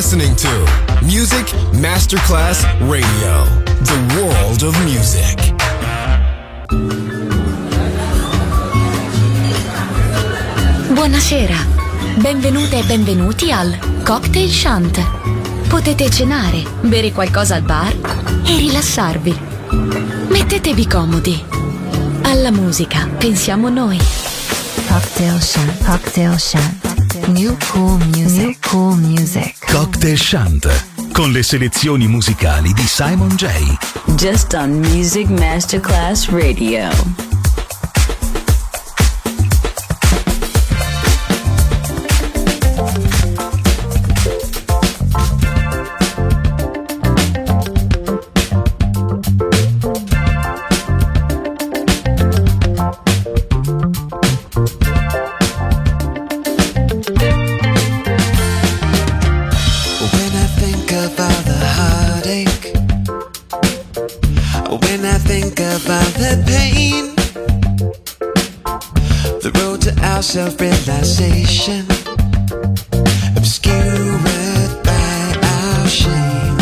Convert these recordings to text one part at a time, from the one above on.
listening to Music Masterclass Radio, the world of music. Buonasera, benvenute e benvenuti al Cocktail Shant. Potete cenare, bere qualcosa al bar e rilassarvi. Mettetevi comodi. Alla musica pensiamo noi. Cocktail Shant, Cocktail Shant. New cool music, new cool music. Cocktail Shant, con le selezioni musicali di Simon J. Just on Music Masterclass Radio. Self-realization obscured by our shame.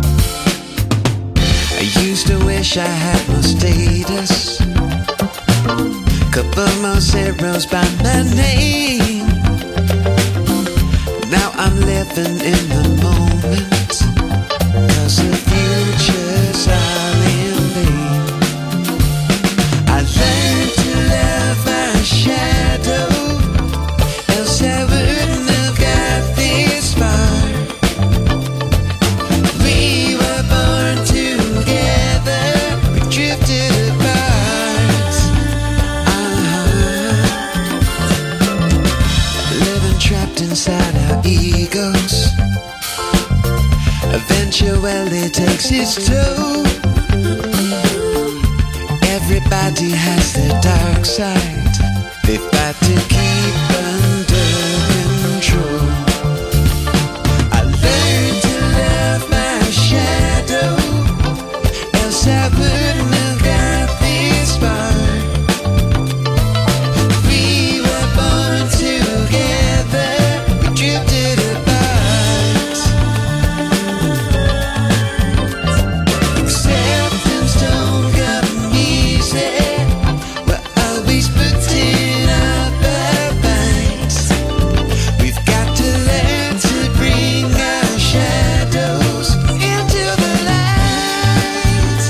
I used to wish I had more status, couple more zeros by my name. Now I'm living in the moment, 'cause the futures are in vain. I learned to love my shadow, I wouldn't have got this far. We were born together, we drifted apart. Living trapped inside our egos eventually takes its toll. Everybody has their dark side, they fight to keep under control. I learned to love my shadow, else I wouldn't have got this far. We were born together, we drifted apart. Acceptance don't come easy, we're always putting up a fight. We've got to learn to bring our shadows into the light.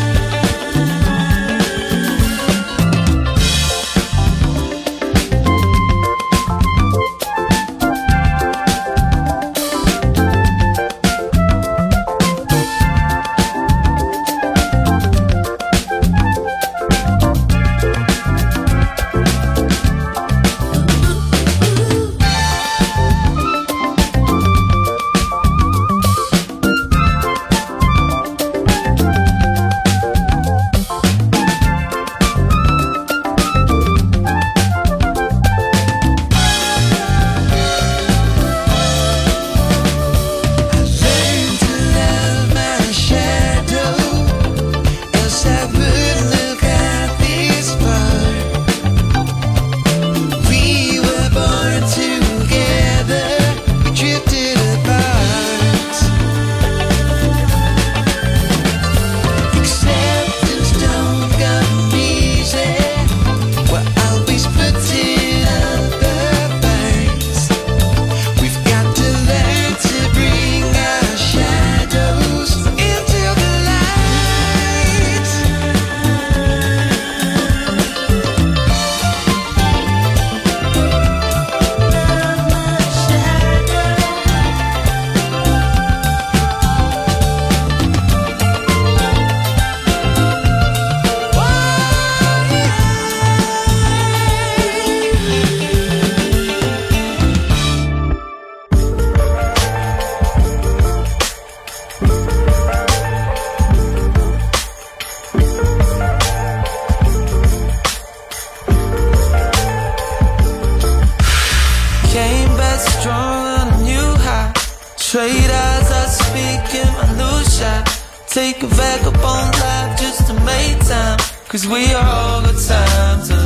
Traders are speaking my new shot. Take a vagabond life just to make time, 'cause we all got time to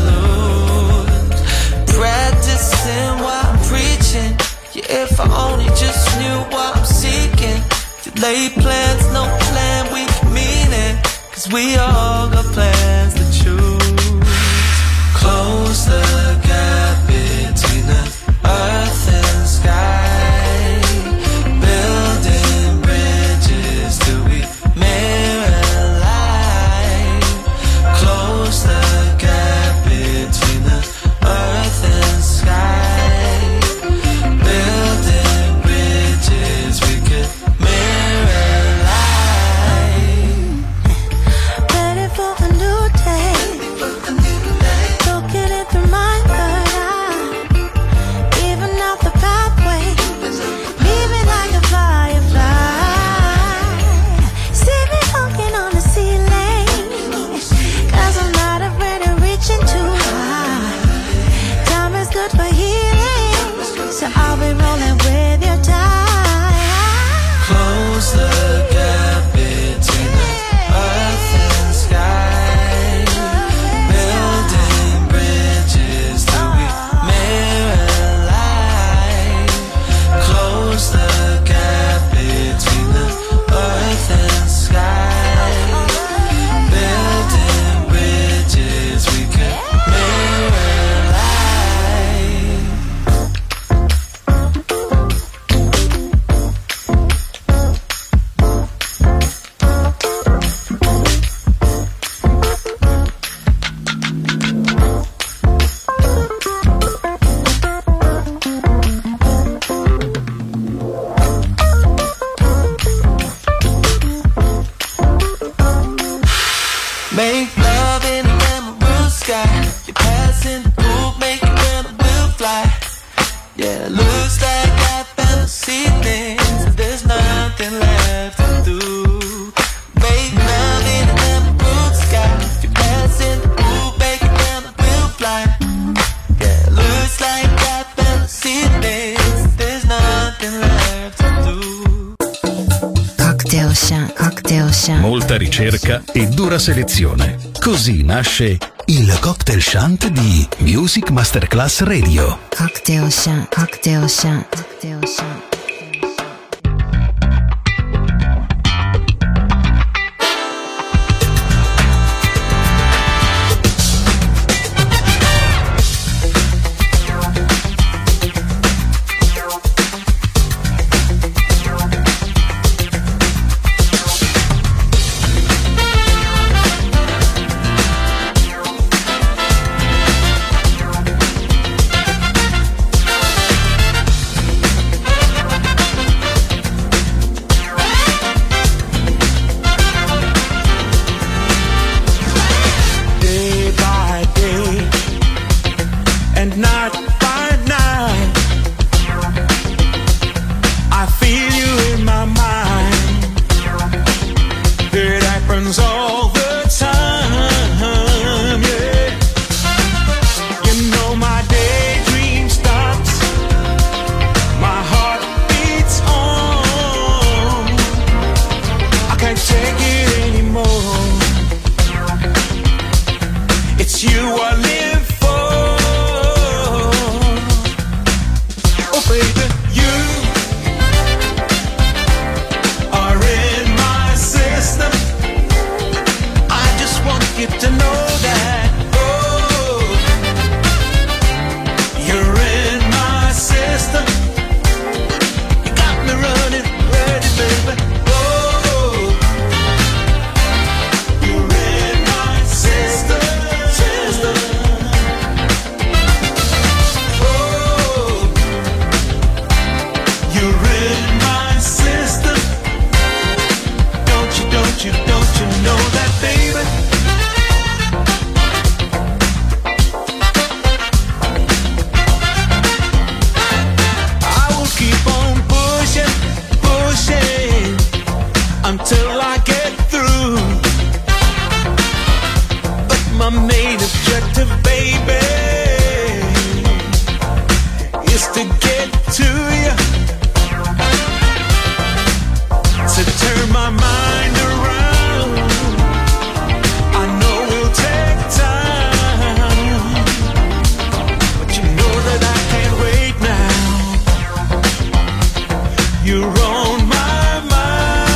lose. Practicing while I'm preaching. Yeah, if I only just knew what I'm seeking. lay plans, no plan, we can mean it. Cause we all got plans to choose. Close the gap between the earth and sky. Building bridges till we mirror light. Close the gap between the earth and sky. Building bridges we could mirror light. Ready for a new day. Looking it through my third eye. Even out the pathway. Leaving like a firefly. See me walking on the ceiling. Cause I'm not afraid of reaching too high. Time is good for healing. So I'll be rolling with your tide. Close the gap between the earth and sky. Building bridges till we mirror light. Close the gap between the earth and sky. Building bridges we could mirror light. Make love in an emerald sky. You're passing the pool, make it when I will fly. Yeah, looks like I found the ceilings. There's nothing left to do. Make love in an emerald sky. You're passing the pool, make it when I will fly. Yeah, looks like I found the ceilings. There's nothing left to do. Cocktail Shant, Cocktail Shant. Molta ricerca e dura selezione. Così nasce il Cocktail Shant di Music Masterclass Radio. Cocktail Shant, Cocktail Shant, Cocktail Shant. You're on my mind.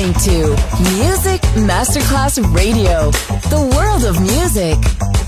listening to Music Masterclass Radio, the world of music.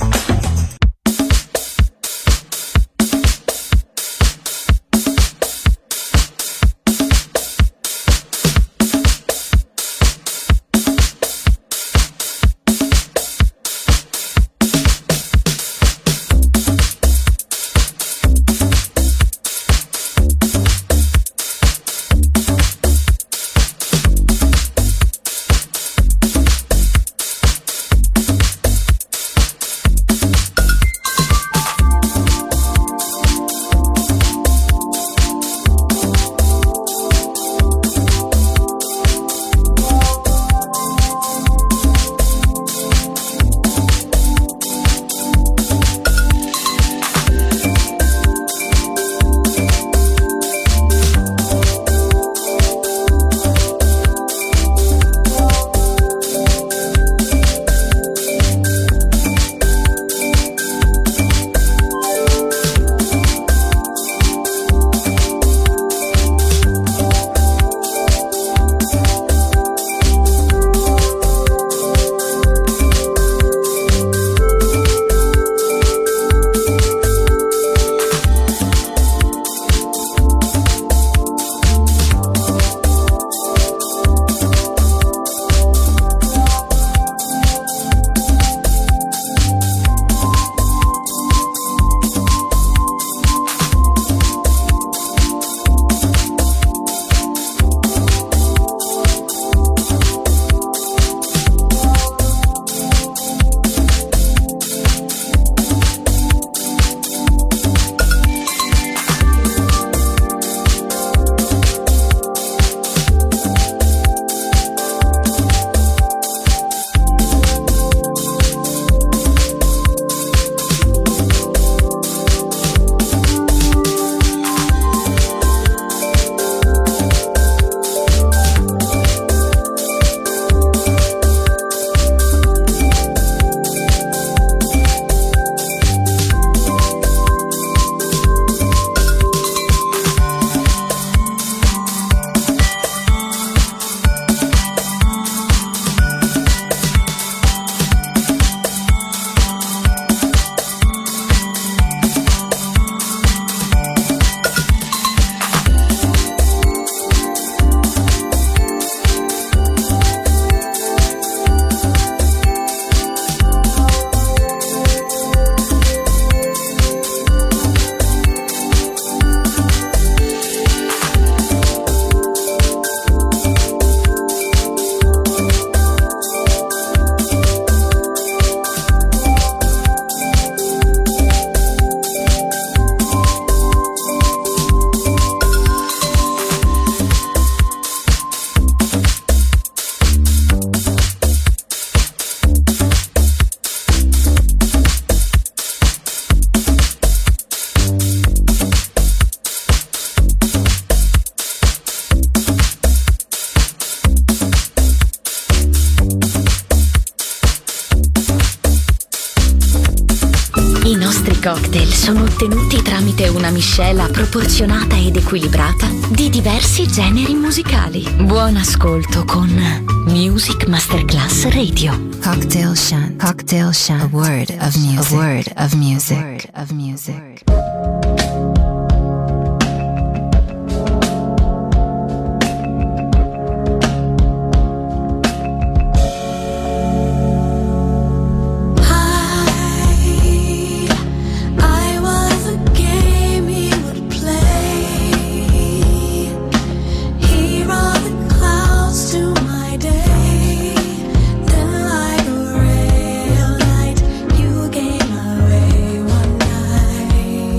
Cocktail sono ottenuti tramite una miscela proporzionata ed equilibrata di diversi generi musicali. Buon ascolto con Music Masterclass Radio. Cocktail Shant. Cocktail Shant. A word of music. A word of music. A word of music. Away one night.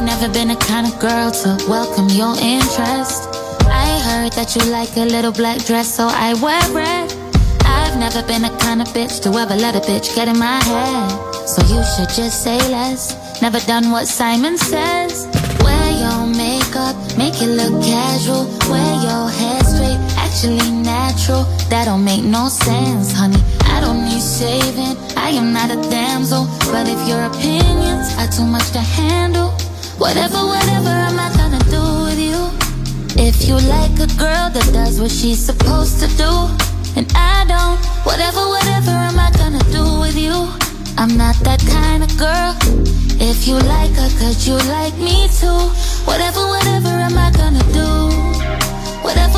I've never been the kind of girl to welcome your interest. I heard that you like a little black dress, so I wear red. I've never been the kind of bitch to ever let a bitch get in my head. So you should just say less. Never done what Simon says. Wear your makeup, make it look casual. Wear your hair straight, actually natural. That don't make no sense, honey. I don't need saving, I am not a damsel. But if your opinions are too much to handle, whatever, I'm not gonna do with you. If you like a girl that does what she's supposed to do, and I don't, whatever, am I gonna do with you? I'm not that kind of girl. If you like her, could you like me too? Whatever, am I gonna do? Whatever,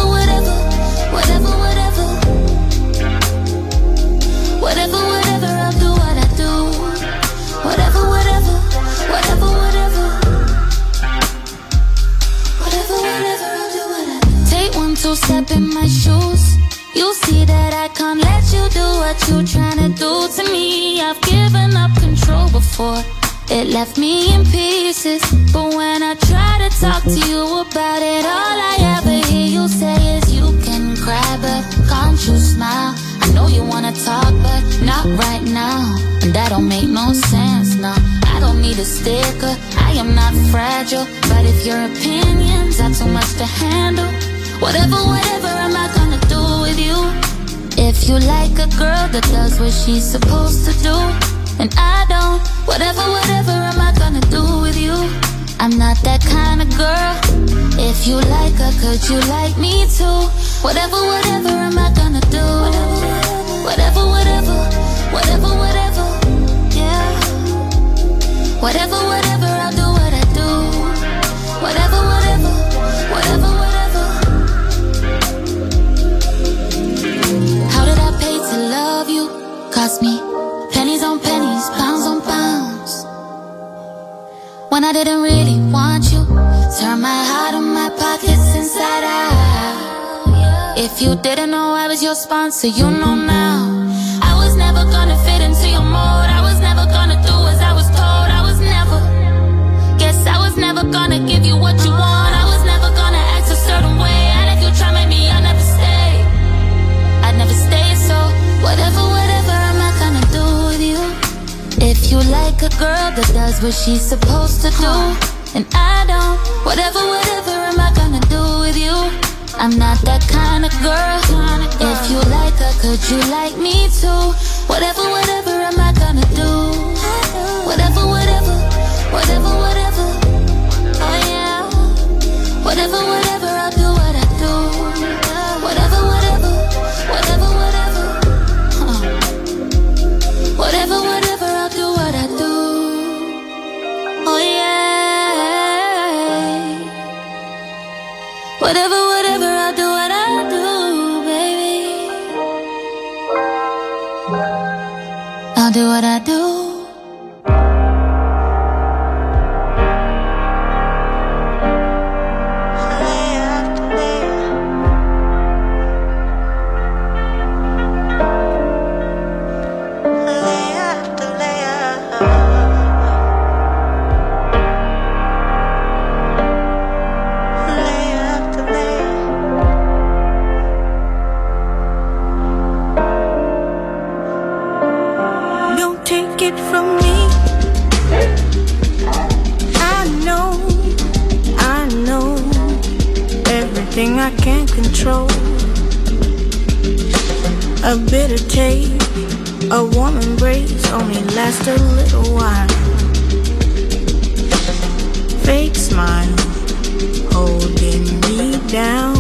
I'll do what I do. Whatever, I'll do what I do. Take 1, 2 step in my shoes. You'll see that I can't let you do what you're trying to do to me. I've given up control before, it left me in pieces. But when I try to talk to you about it, all I ever hear you say is you can cry, but can't you smile? I know you wanna talk, but not right now. And that don't make no sense, no. I don't need a sticker, I am not fragile. But if your opinions are too much to handle, whatever, am I gonna do with you? If you like a girl that does what she's supposed to do, and I don't, whatever, am I gonna do with you? I'm not that kind of girl. If you like her, could you like me too? Whatever, am I gonna do? Whatever, yeah. Whatever, I'll do what I do. Whatever. How did I pay to love you? Cost me pennies on pennies, pounds on pounds. When I didn't really want you, turn my heart and my pockets inside out. If you didn't know I was your sponsor, you know now. I was never gonna fit into your mold. I was never gonna do as I was told. Guess I was never gonna give you what you want. I was never gonna act a certain way. And if you try to make me, I'd never stay. I'd never stay, so whatever, am I gonna do with you? If you like a girl that does what she's supposed to do, and I don't, whatever, am I gonna do with you? I'm not that kind of girl. If you like her, could you like me too? Whatever, am I gonna do? Whatever, oh yeah. Whatever, I'll do what I do. Whatever, Whatever, I'll do what I do. Oh yeah. Whatever, I'll do what I do, baby. I'll do what I do. I can't control. A bitter taste, a warm embrace only lasts a little while. Fake smile holding me down.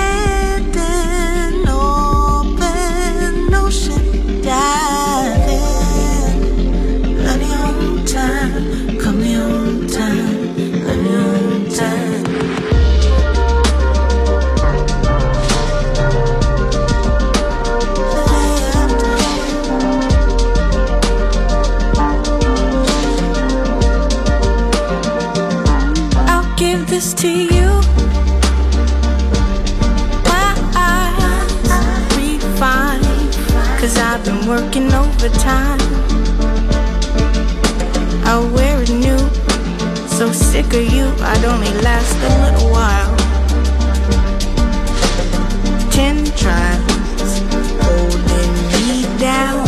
Diving working overtime. I'll wear it new. So sick of you, I'd only last a little while. 10 trials holding me down.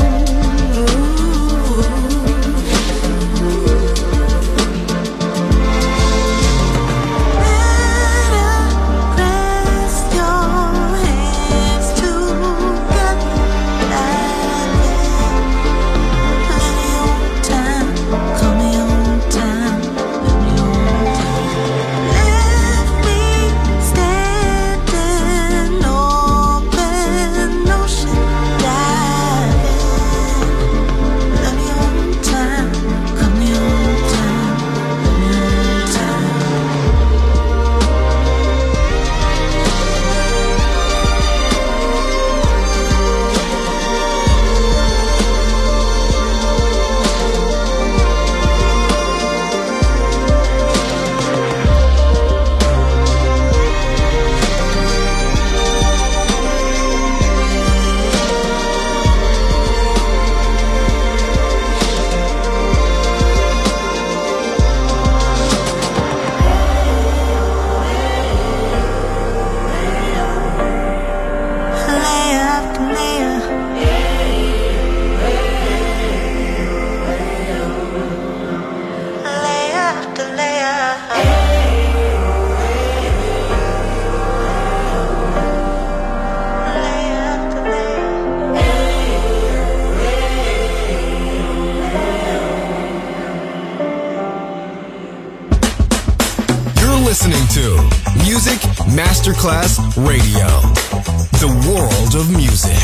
Listening to Music Masterclass Radio, the world of music.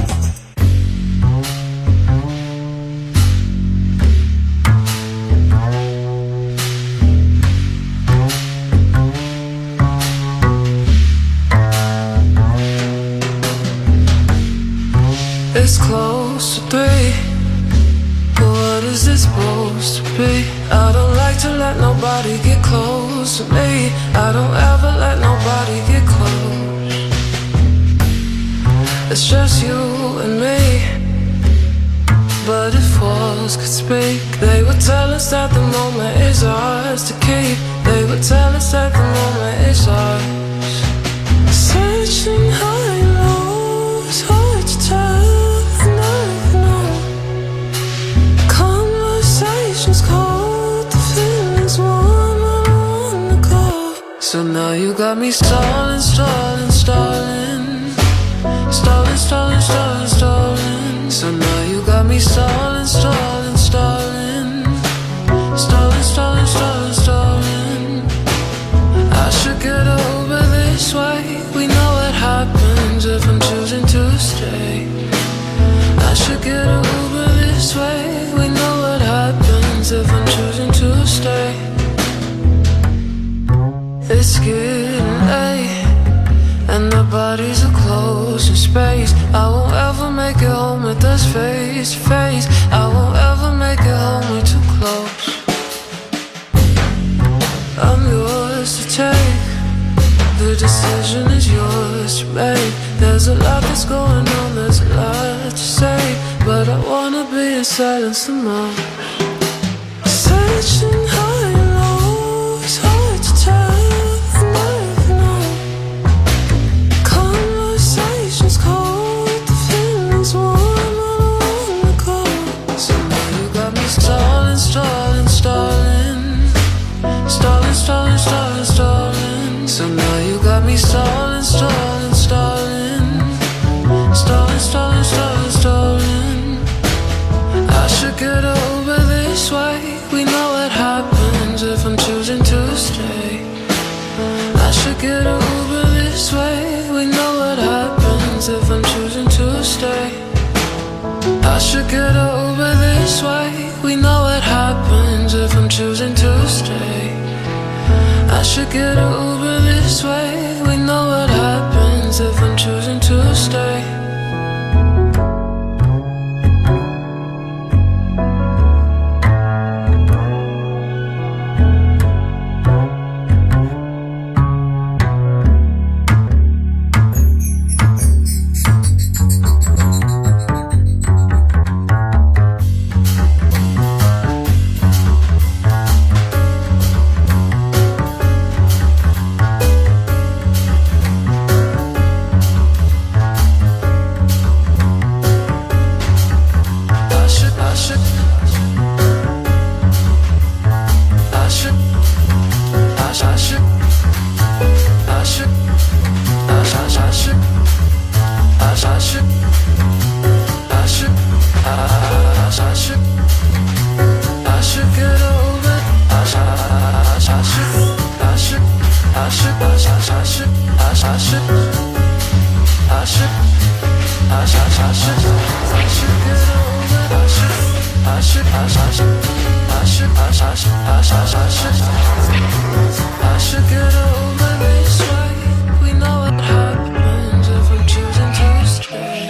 It's close to 3, but what is this supposed to be? I don't like to let nobody get close to me. I don't ever let nobody get close. It's just you and me. But if walls could speak, they would tell us that the moment is ours to keep. They would tell us that the moment is ours. Searching high and low, it's hard to tell, and I know. Conversations cold, the feelings warm, I don't wanna go. So now you got me stalling, stalling, stalling. Stalling, stalling, stalling, stalling. So now you got me stalling, stalling, stalling. Stalling, stalling, stalling, stalling. I should get over this way. We know what happens if I'm choosing to stay. I should get over this way. We know what happens if I'm choosing to stay. It's getting late, and the bodies are close in space. I won't ever make it home with us face to face. I won't ever make it home, we're too close. I'm yours to take. The decision is yours to make. There's a lot that's going on, there's a lot to say, but I wanna be in silence the most. Searching high and low, it's hard to tell. Stalling, stalling, stalling. Stalling, stalling, stalling, stalling. So now you got me stalling, stalling, stalling. Stalling, stalling, stalling, stalling. I should get over this way. We know what happens if I'm choosing to stay. I should get over this way. We know what happens if I'm choosing to stay. I should get over this way. We know what happens if I'm choosing to stay. I should get over this way. We know what happens if I'm choosing to stay. should get over this way. We know what happens if we're choosing to stay.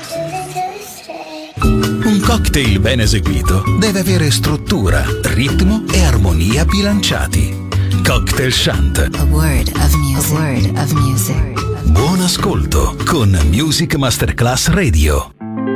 Un cocktail ben eseguito deve avere struttura, ritmo e armonia bilanciati. Cocktail Shant. A word of music. A word of music. Buon ascolto con Music Masterclass Radio.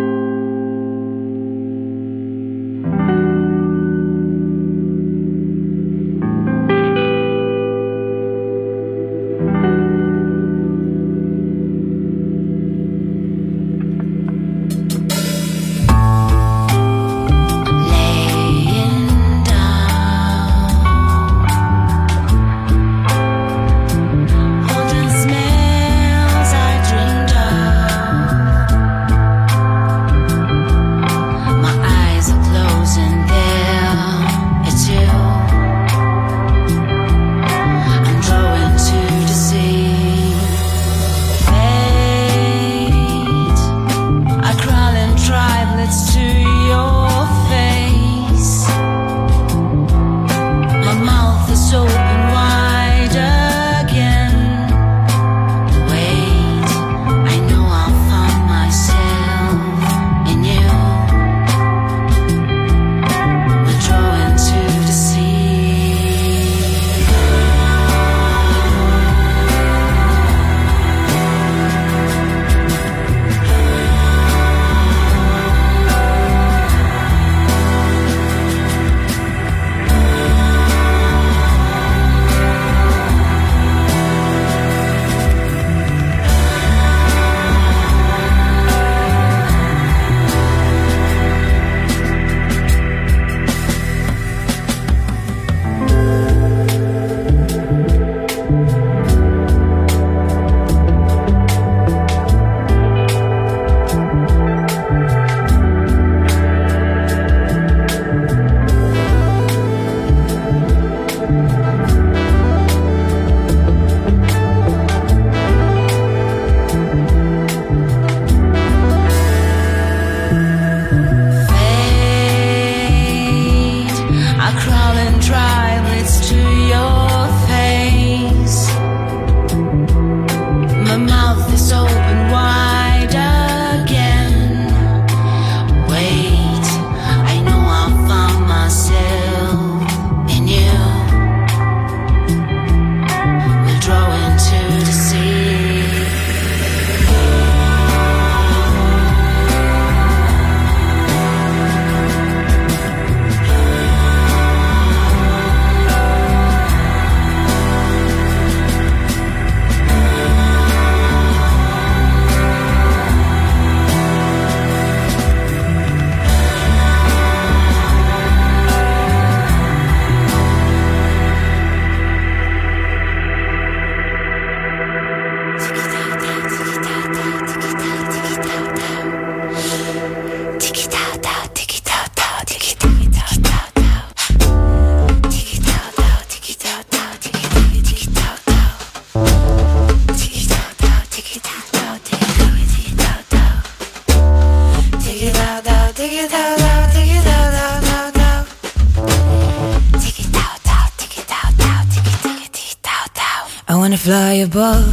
Fly above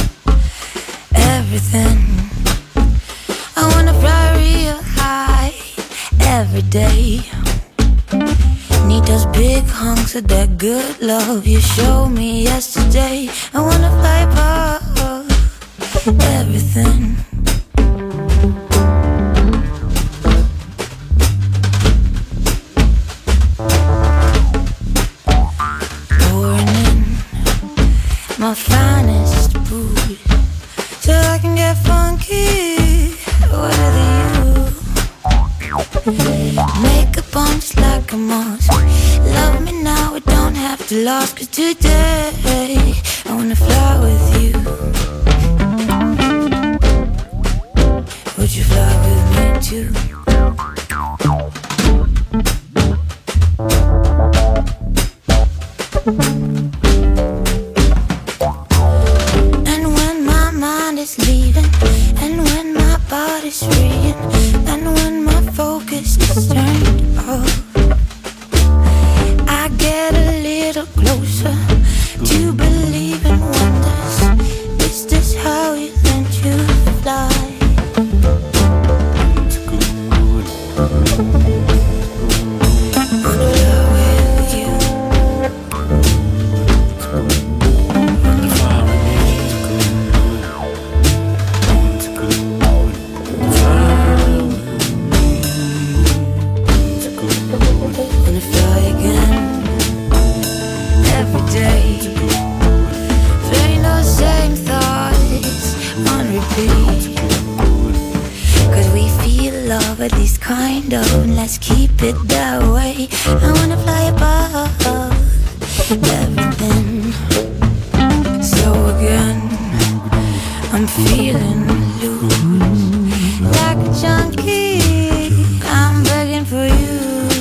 everything. I wanna fly real high every day. Need those big hunks of that good love you showed me yesterday. I wanna fly above everything. My finest booze, so I can get funky with you. Makeup on just like a moss. Love me now, we don't have to last. 'Cause today I wanna fly with you. Would you fly with me too? Leaving love, at least kind of, and let's keep it that way. I wanna fly above everything. So again, I'm feeling loose, like a junkie. I'm begging for you.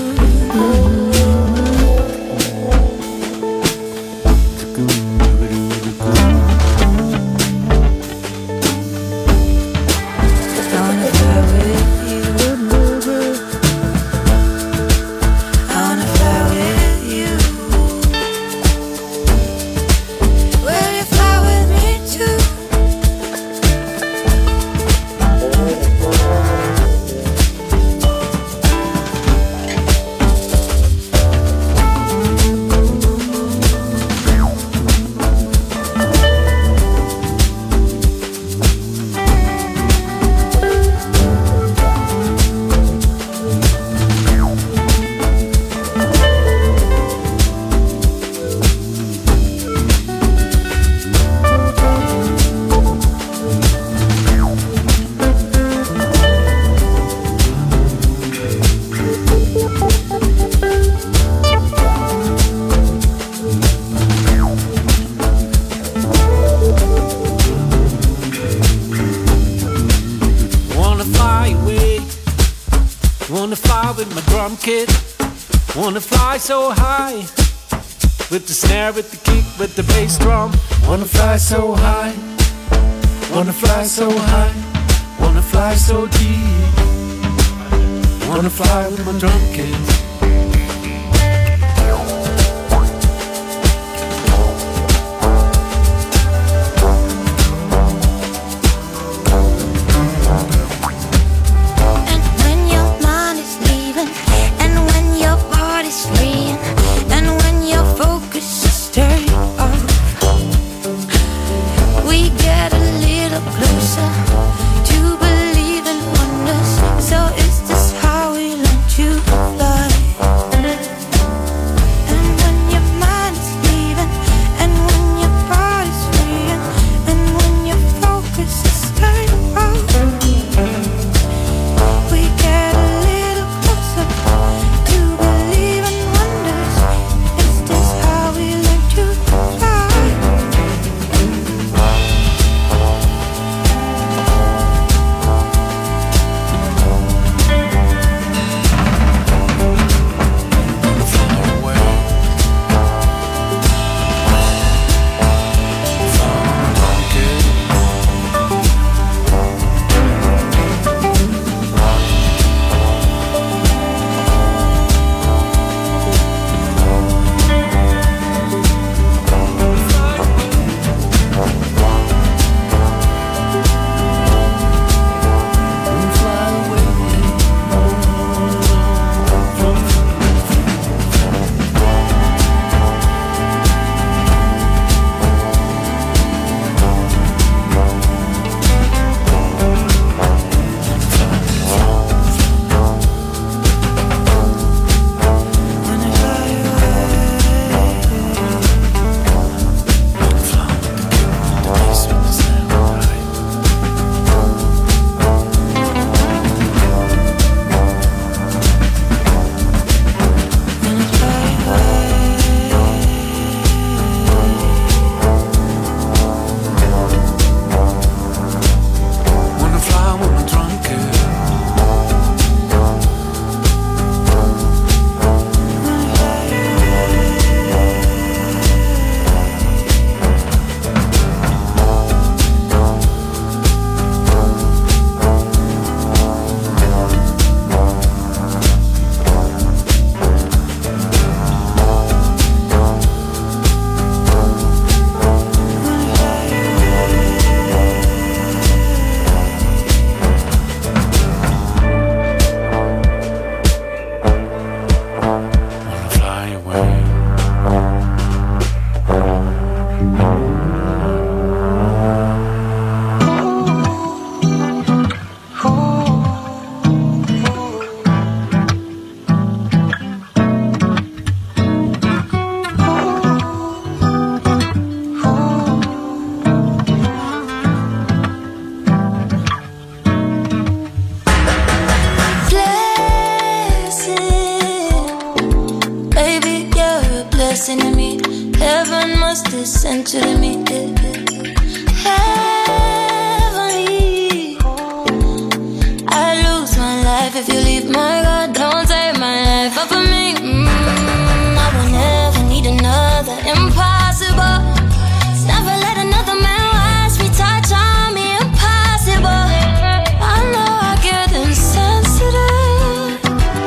Wanna fly so high, with the snare, with the kick, with the bass drum. Wanna fly so high, wanna fly so high, wanna fly so deep. Wanna fly with my drum kit. Closer to believe in wonders. So is this how we learn to fly? center to me. Heavenly, I lose my life if you leave my God. Don't take my life off of me. I will never need another. Impossible. Never let another man watch me, touch on me. Impossible. I know I get insensitive.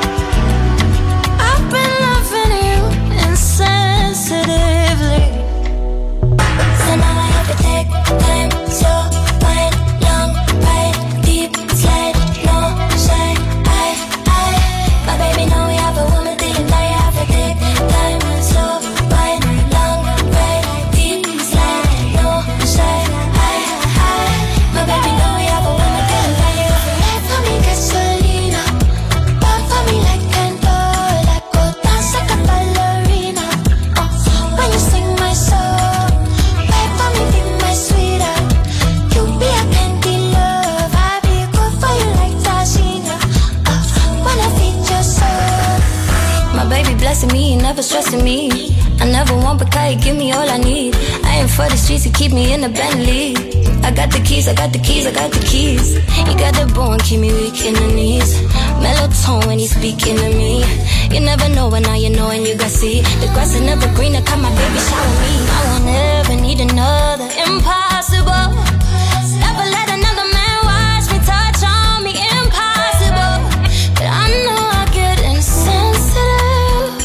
I've been loving you insensitively. So now I have to take time, slow, wide, long, ride, deep, slide, no shine. My baby know we have a woman thing. Now you have to take time, slow, wide, long, ride, deep, slide, no shine. My baby know we have a woman thing. Now you have to ride for me, gasolina. Burn for me like candle, like go dance like a ballerina. When you sing my song, ride for me, be my sweetheart. You be a candy love, I be good for you like Tashina. When I feed your soul, my baby blessing me, never stressing me. I never want because you give me all I need. I ain't for the streets, you keep me in a Bentley. I got the keys, I got the keys, I got the keys. You got the bone, keep me weak in the knees. Mellow tone when he's speaking to me. You never know, but now you know and you got see. The grass is never greener, come my baby shower me. I won't ever need another. Impossible. Never let another man watch me, touch on me. Impossible. But I know I get insensitive.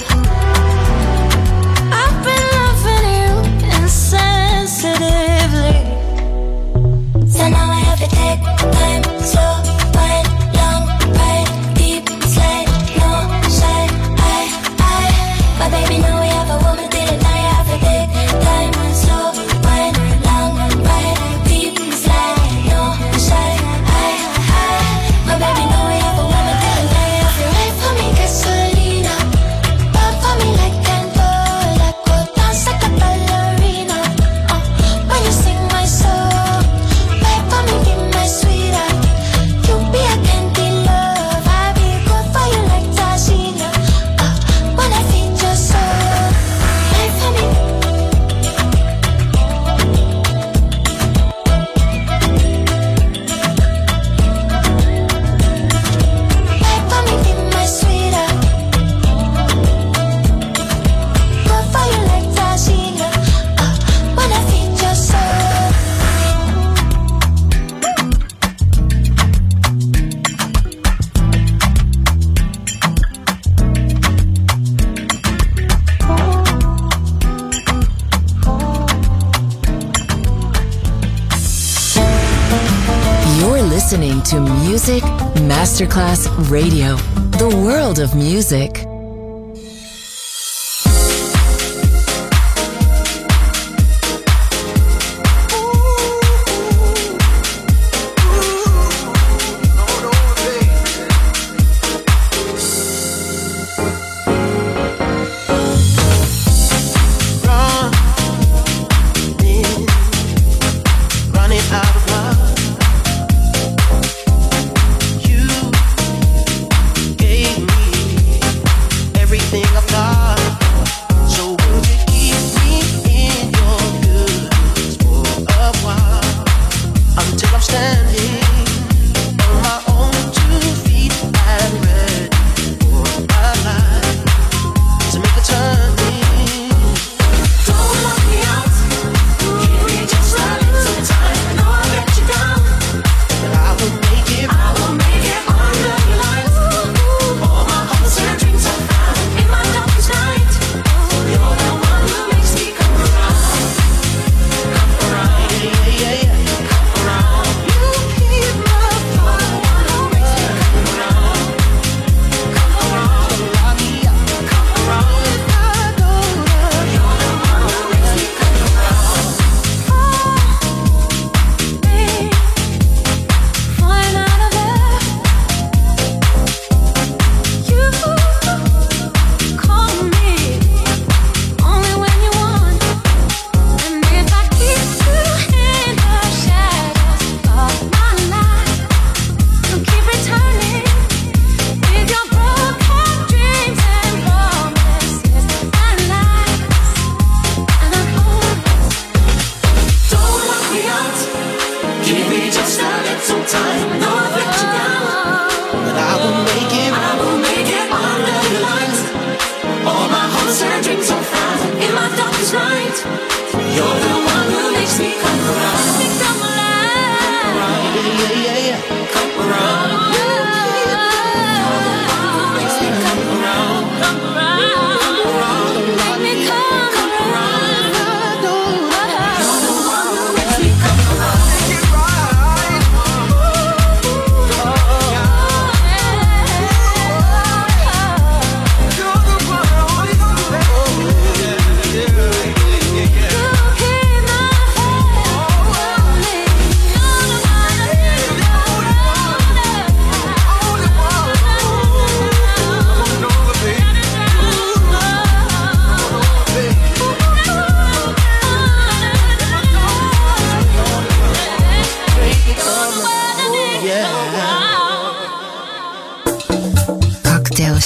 I've been loving you insensitively. So now I have to take time, slow, wide, long, ride, deep, slide, no shine. My baby know we have a woman thing. Now you have to take time, slow, wide, long, ride, deep, slide, no shine. My baby know we have a woman thing. Now you have to ride for me, gasolina. Burn for me like candle, like go dance like a ballerina. When you sing my song, ride for me, be my sweetheart. You be a candy love, I be good for you like Tashina. When I feed your soul, ride for me. Ride for me, be my sweetheart. Good for you like Tashina. When I feed your soul. You're listening to Music Masterclass Radio, the world of music. Running out of love. You gave me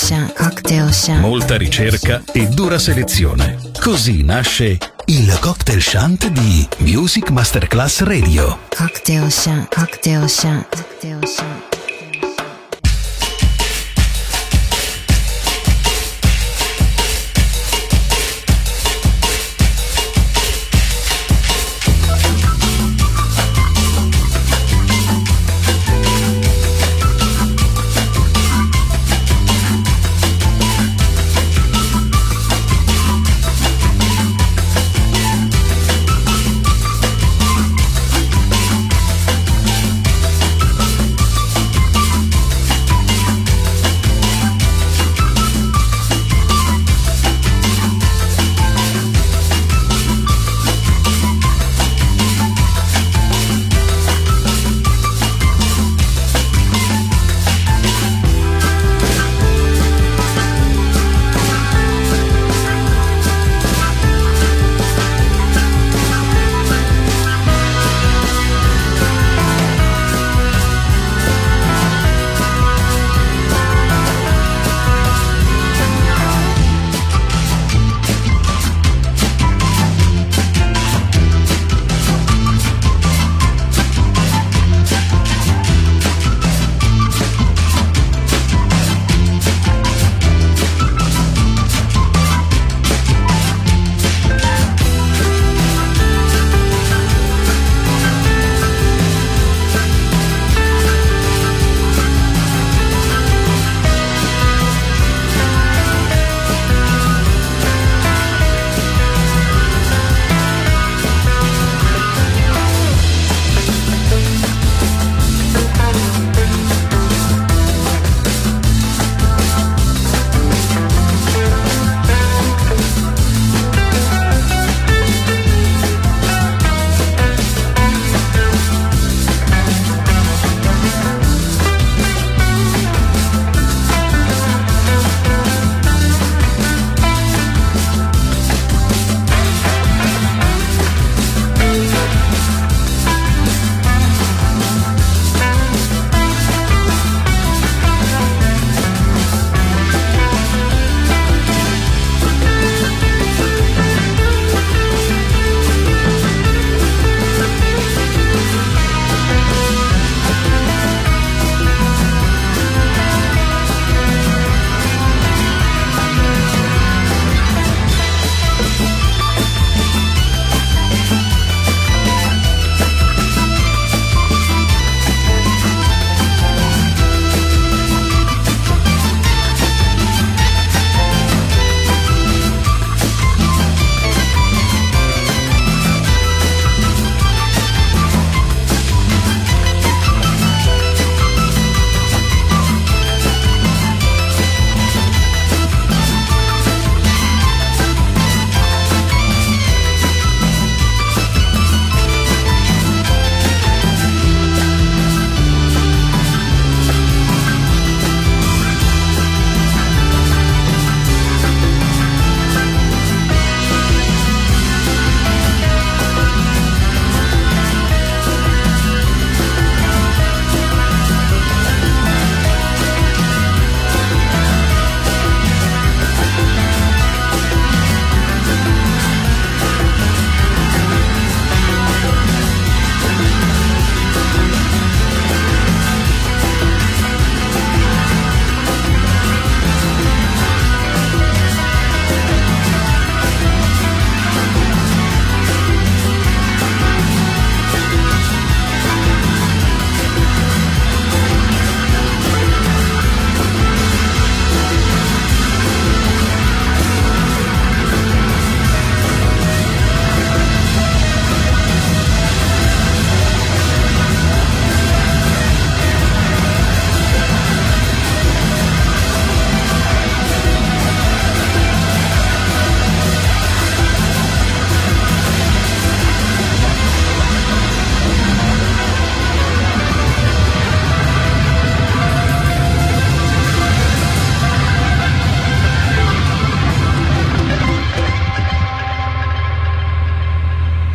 Cocktail Shant. Molta ricerca e dura selezione. Così nasce il Cocktail Shant di Music Masterclass Radio. Cocktail Shant. Cocktail Shant. Cocktail Shant.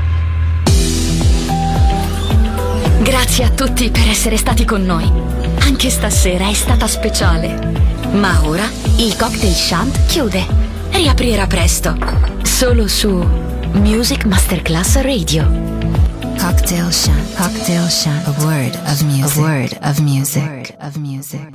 Grazie a tutti per essere stati con noi. Anche stasera è stata speciale. Ma ora il Cocktail Shant chiude. Riaprirà presto. Solo su Music Masterclass Radio. Cocktail Shant. Cocktail Shant. A word of music. A word of music.